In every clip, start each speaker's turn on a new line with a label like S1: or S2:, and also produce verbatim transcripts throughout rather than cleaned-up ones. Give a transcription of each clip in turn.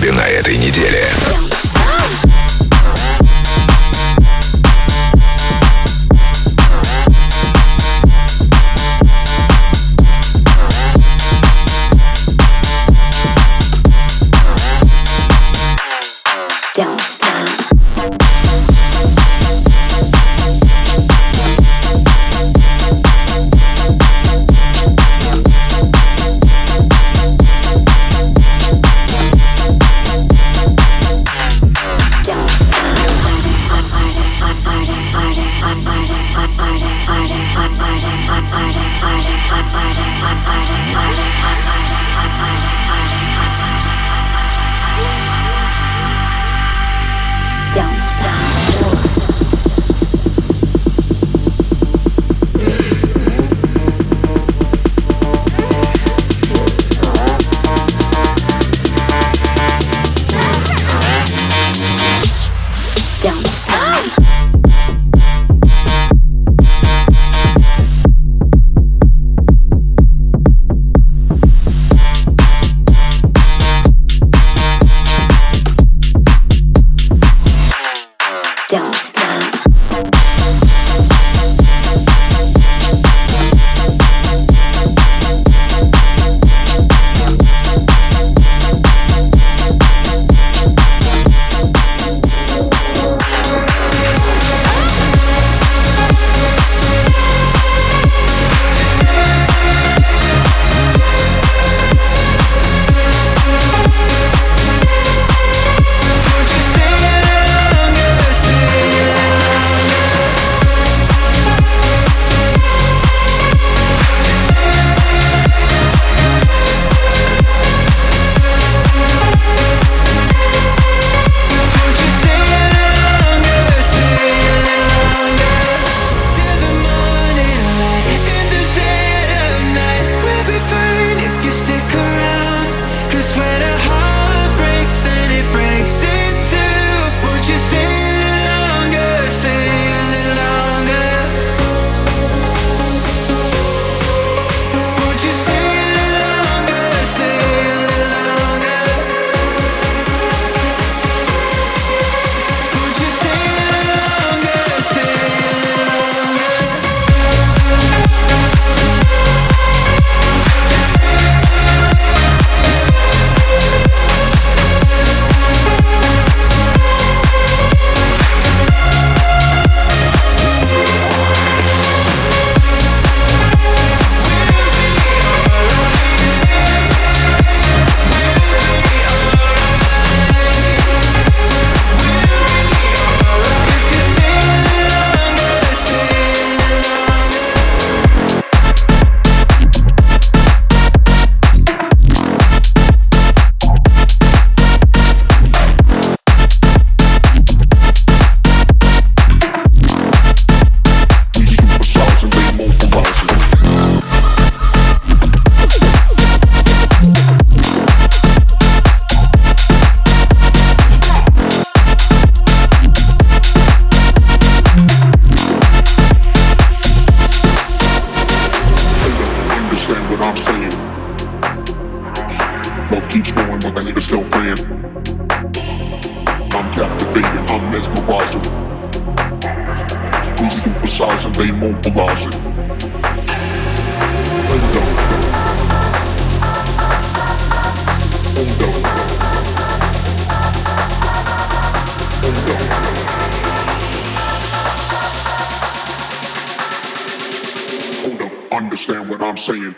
S1: клабе на этой неделе.
S2: Understand what I'm saying?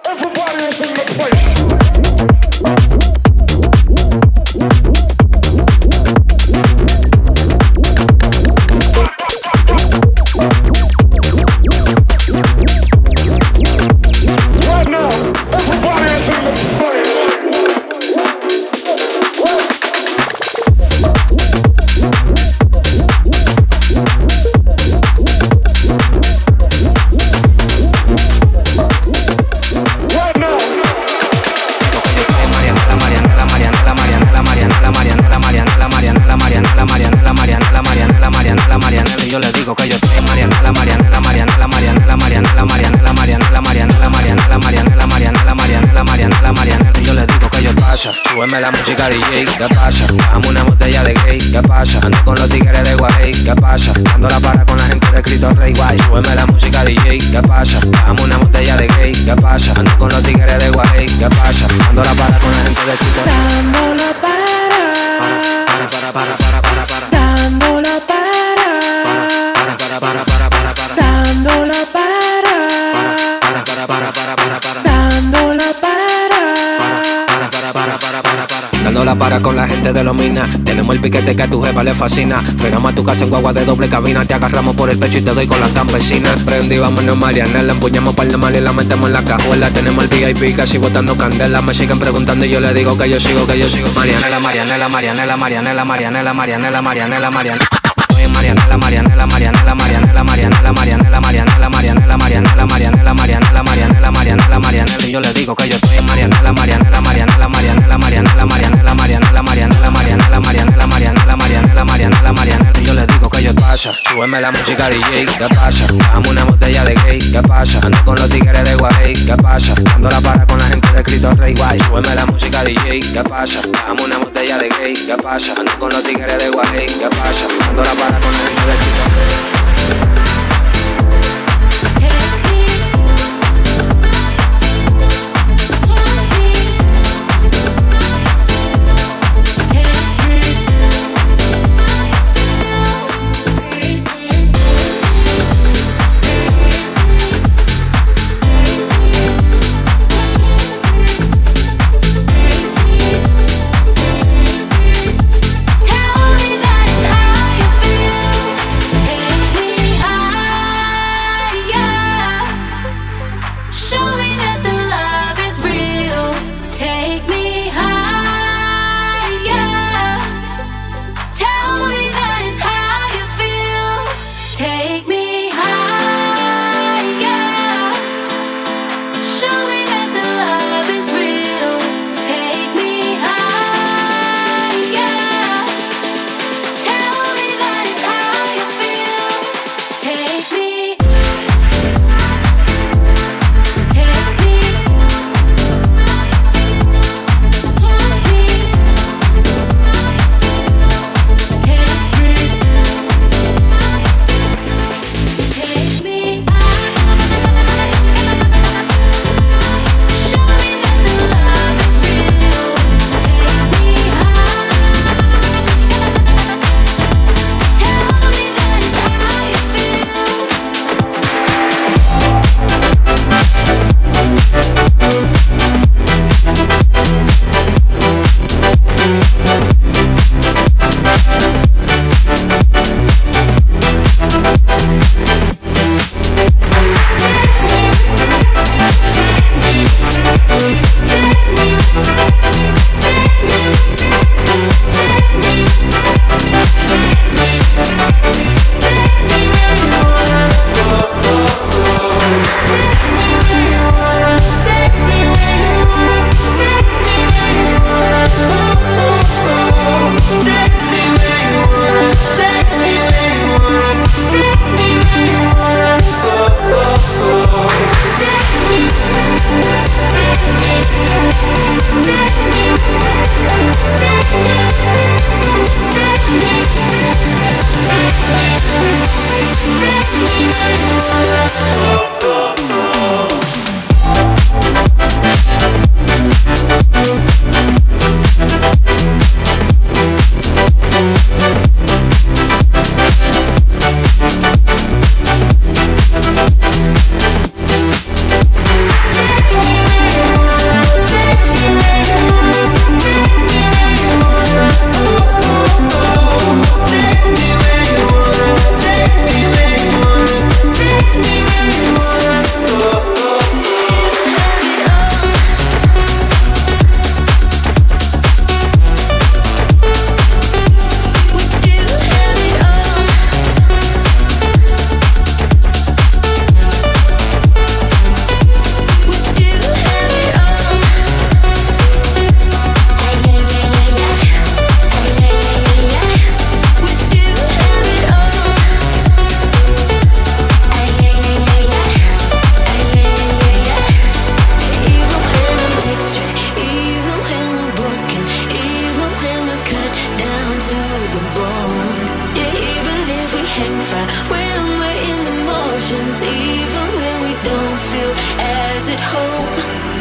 S1: Súbeme la música D J, ¿qué pasa? Dame una botella de gay, ¿qué pasa? Ando con los tigres de Guay, ¿qué pasa? Dando la para con la gente de Cristo Rey Guay. Súbeme la música D J, ¿qué pasa? Dame una botella de gay, ¿qué pasa? Ando con los tigres de Guay, ¿qué pasa? Dando la para con la gente de Cristo Rey.
S3: Dando la para,
S1: para, para, para, para, para, para.
S3: Dando la para,
S1: para, para, para, para, para, para.
S3: Dando la para,
S1: para, para, para, para, para, para.
S3: Dando la para.
S1: Para, para, para, para. Dando la para con la gente de los minas. Tenemos el piquete que a tu jefa le fascina. Frenamos a tu casa en guagua de doble cabina. Te agarramos por el pecho y te doy con la campesina. Prendí, vámonos Mariana. La empuñamos para el mal y la metemos en la cajuela. Tenemos el V I P casi botando candela. Me siguen preguntando y yo le digo que yo sigo, que yo sigo. Marianela, Marianela, Marianela, Marianela, Marianela, Marianela, Marianela, Marianela. Marianela, Marianela, Marianela, Marianela, Marianela, Marianela, Marianela, Marianela, Marianela, Marianela, Marianela, Marianela, Marianela, Marianela, y yo le digo que yo estoy en Marianela, Marianela, Marianela, Marianela, Marianela, Marianela, Marianela, Marianela, Marianela, Marianela, Marianela, Marianela, Marianela, Marianela, y yo le digo que yo pasa. Súbeme la música D J, ¿qué pasa? Dame una botella de gay, ¿qué pasa? Ando con los tigres de Guay, ¿qué pasa? Dando la para con la gente de Cristo Rey Guay. Súbeme la música D J, ¿qué pasa? Dame una botella de gay, ¿qué pasa? Ando con los tigres de Guay, ¿qué pasa? Dando la para con la gente de Cristo Rey.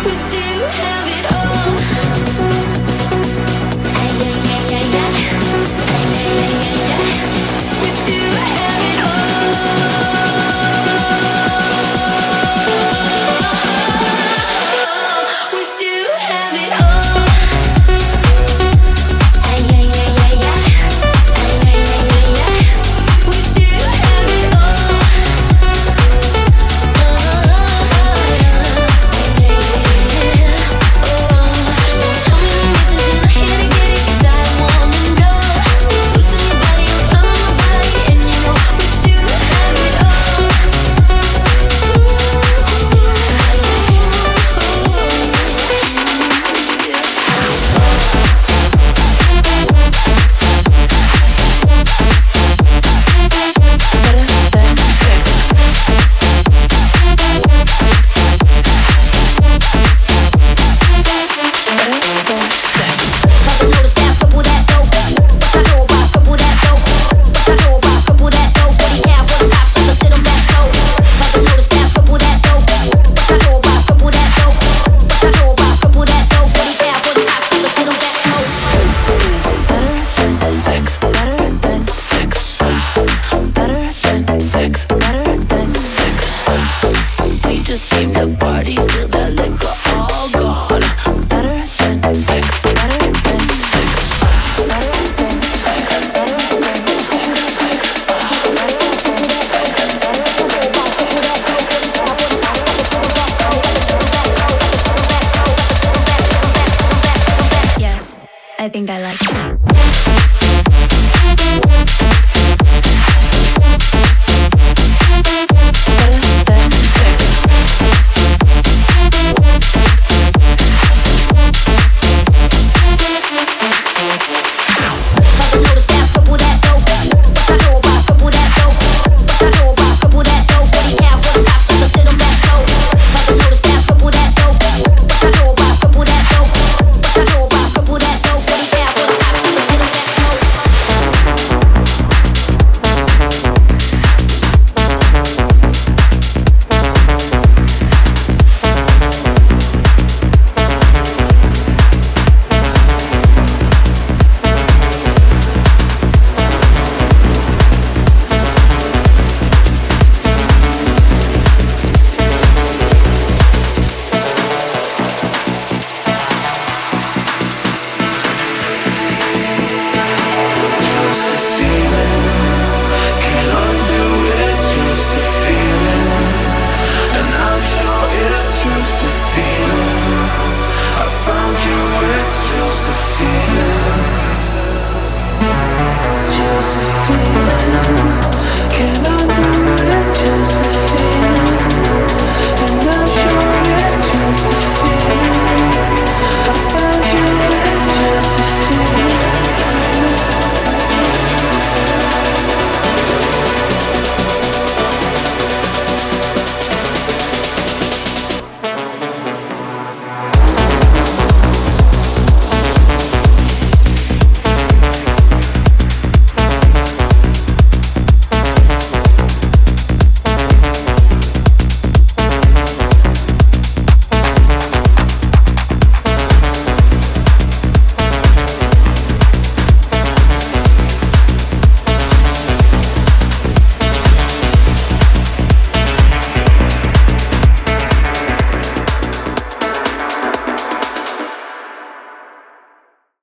S4: I think I like it.